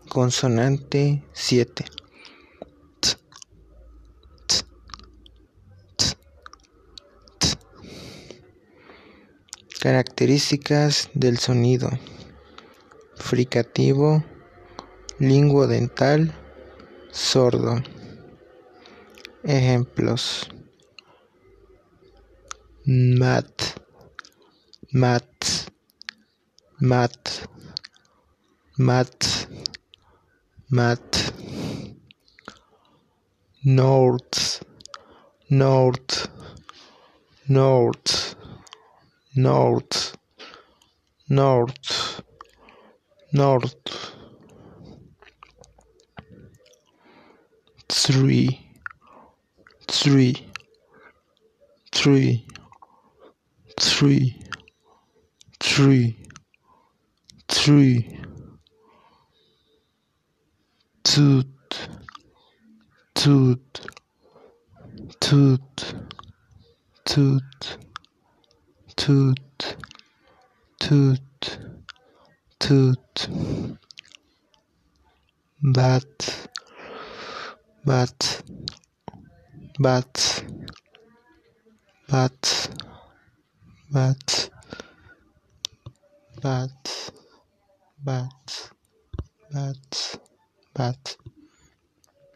Consonante 7. T, t, t, t. Características del sonido: fricativo, linguodental, sordo. Ejemplos: mat, mat, mat, mat, mat. North, north, north, north, north, north. Three, three, three, three, three, three. Tooth, tooth, tooth, tooth, tooth, tooth, tooth. Bat, bat, bat, bat, bat, bat, bat, bat, bat.